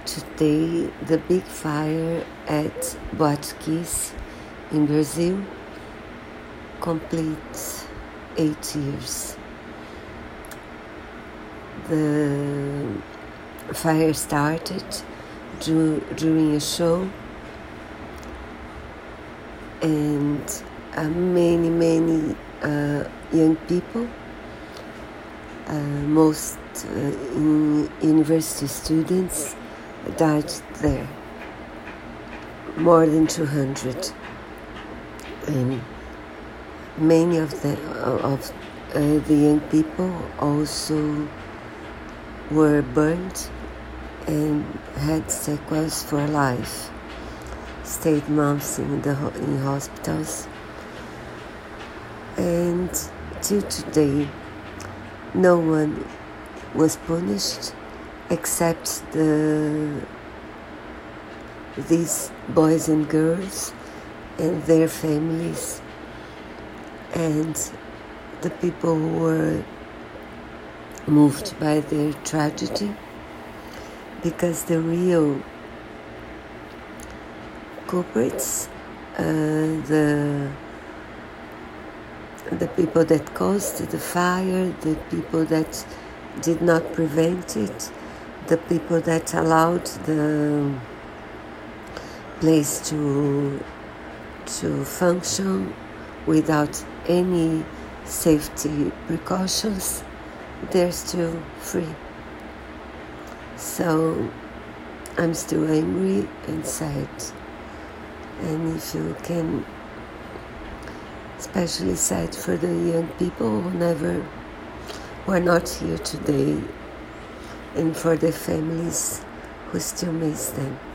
Today, the big fire at Boate Kiss in Brazil completes 8 years. The fire started during a show, and many young people, most university students, died there. More than 200, and many of the young people also were burned and had sequels for life. Stayed months in hospitals, and till today, no one was punished except these boys and girls and their families and the people who were moved by their tragedy, because the real culprits, the people that caused the fire, the people that did not prevent it, the people that allowed the place to function without any safety precautions, they're still free. So I'm still angry and sad. And if you can, especially sad for the young people who are not here today, and for the families who still miss them.